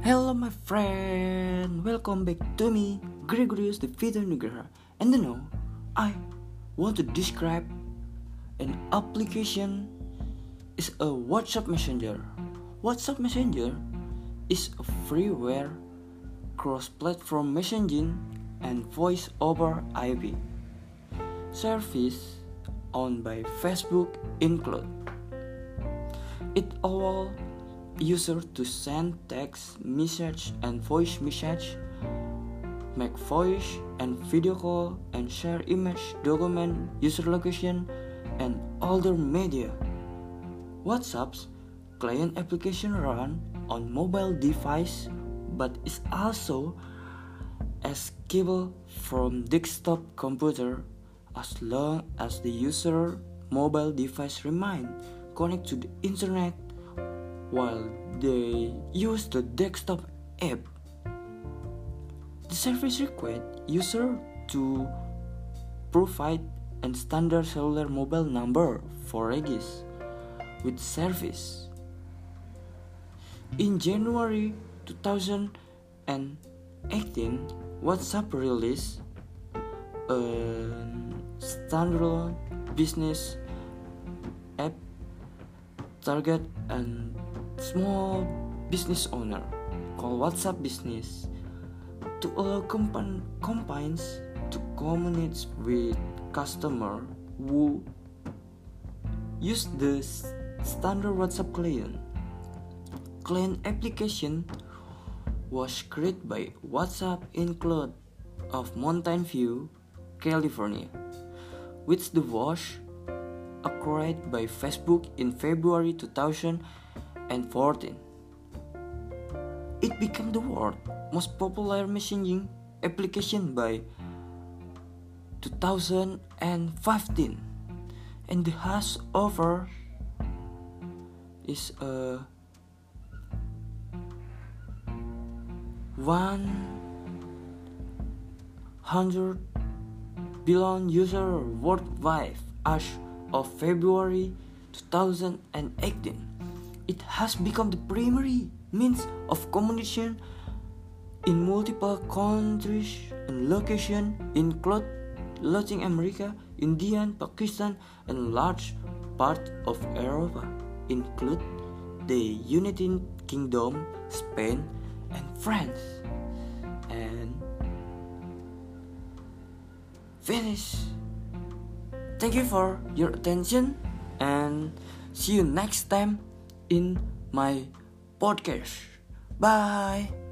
Hello my friend, welcome back to me, Gregorius the Fifth Nugraha. And I want to describe an application is a WhatsApp Messenger. WhatsApp Messenger is a freeware cross-platform messaging and voice over IP service owned by Facebook include. It allows users to send text message and voice message, make voice and video call, and share image, document, user location, and other media. WhatsApp's client application run on mobile device, but is also escapable from desktop computer as long as the user mobile device remain connected to the internet while they use the desktop app. The service requires user to provide a standard cellular mobile number for register with service. In January 2018, WhatsApp released a standalone business app target and small business owner called WhatsApp Business to allow companies to communicate with customers who use the standard WhatsApp client. Client application was created by WhatsApp Include of Mountain View, California, which was acquired by Facebook in February 2014. It became the world's most popular messaging application by 2015, and the has over is 100 billion users worldwide as of February 2018. It has become the primary means of communication in multiple countries and locations, including Latin America, India, Pakistan, and large part of Europe, include the United Kingdom, Spain, and France. And finish. Thank you for your attention and see you next time in my podcast. Bye.